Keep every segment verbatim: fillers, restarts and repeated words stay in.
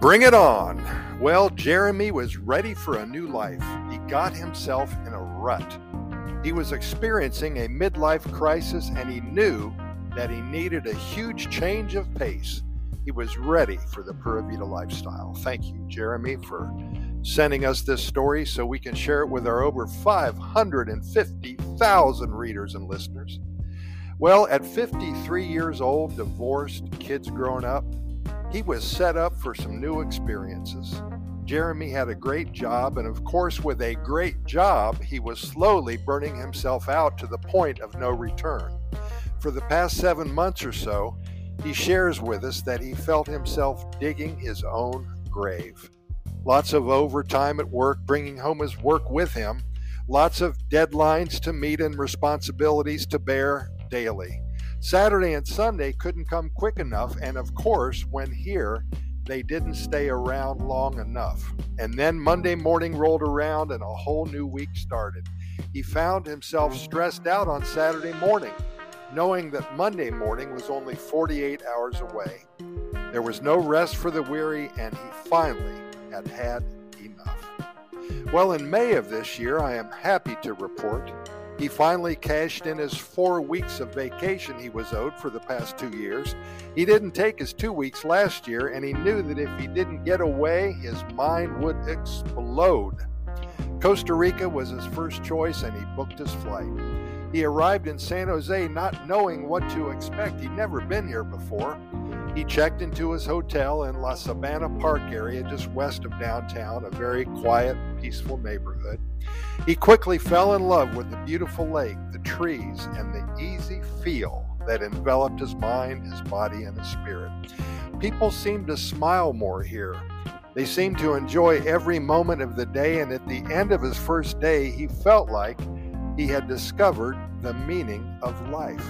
Bring it on. Well, Jeremy was ready for a new life. He got himself in a rut. He was experiencing a midlife crisis, and he knew that he needed a huge change of pace. He was ready for the Pura Vida lifestyle. Thank you, Jeremy, for sending us this story so we can share it with our over five hundred fifty thousand readers and listeners. Well, at fifty-three years old, divorced, kids grown up, he was set up for some new experiences. Jeremy had a great job, and of course, with a great job, he was slowly burning himself out to the point of no return. For the past seven months or so, he shares with us that he felt himself digging his own grave. Lots of overtime at work, bringing home his work with him. Lots of deadlines to meet and responsibilities to bear daily. Saturday and Sunday couldn't come quick enough, and of course, when here, they didn't stay around long enough. And then Monday morning rolled around and a whole new week started. He found himself stressed out on Saturday morning, knowing that Monday morning was only forty-eight hours away. There was no rest for the weary, and he finally had had enough. Well, in May of this year, I am happy to report he finally cashed in his four weeks of vacation he was owed for the past two years. He didn't take his two weeks last year, and he knew that if he didn't get away, his mind would explode. Costa Rica was his first choice, and he booked his flight. He arrived in San Jose not knowing what to expect. He'd never been here before. He checked into his hotel in La Sabana Park area just west of downtown, a very quiet, peaceful neighborhood. He quickly fell in love with the beautiful lake, the trees, and the easy feel that enveloped his mind, his body, and his spirit. People seemed to smile more here. They seemed to enjoy every moment of the day, and at the end of his first day, he felt like he had discovered the meaning of life.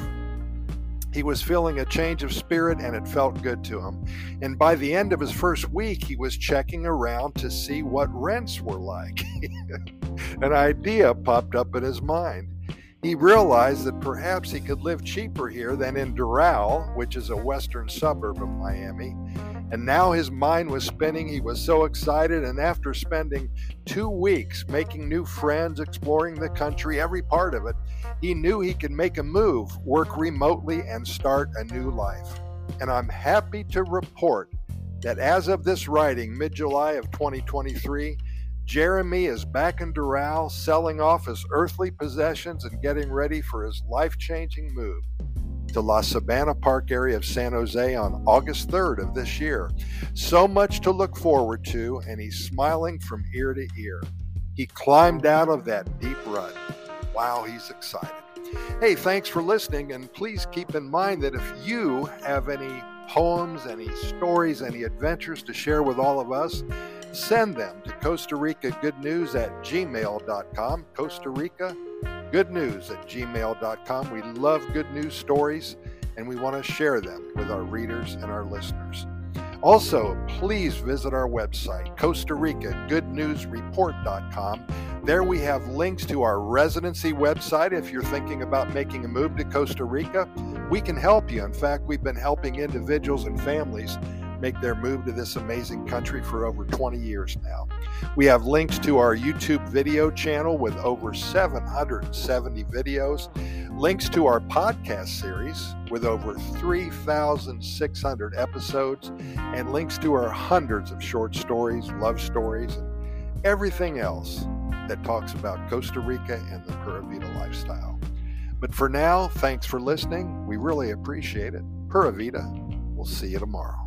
He was feeling a change of spirit, and it felt good to him. And by the end of his first week, he was checking around to see what rents were like. An idea popped up in his mind. He realized that perhaps he could live cheaper here than in Doral, which is a western suburb of Miami. And now his mind was spinning. He was so excited, and after spending two weeks making new friends, exploring the country, every part of it, he knew he could make a move, work remotely, and start a new life. And I'm happy to report that as of this writing, mid-July of twenty twenty-three, Jeremy is back in Doral, selling off his earthly possessions and getting ready for his life-changing move to La Sabana Park area of San Jose on August third of this year. So much to look forward to, and he's smiling from ear to ear. He climbed out of that deep rut. Wow, he's excited. Hey, thanks for listening, and please keep in mind that if you have any poems, any stories, any adventures to share with all of us, send them to Costa Rica Good News at gmail dot com. Costa Rica Good News at gmail dot com. We love good news stories, and we want to share them with our readers and our listeners. Also, please visit our website, Costa Rica Good News Report dot com. There we have links to our residency website. If you're thinking about making a move to Costa Rica, we can help you. In fact, we've been helping individuals and families make their move to this amazing country for over twenty years now. We have links to our YouTube video channel with over seven hundred seventy videos, links to our podcast series with over three thousand six hundred episodes, and links to our hundreds of short stories, love stories, and everything else that talks about Costa Rica and the Pura Vida lifestyle. But for now, thanks for listening. We really appreciate it. Pura Vida. We'll see you tomorrow.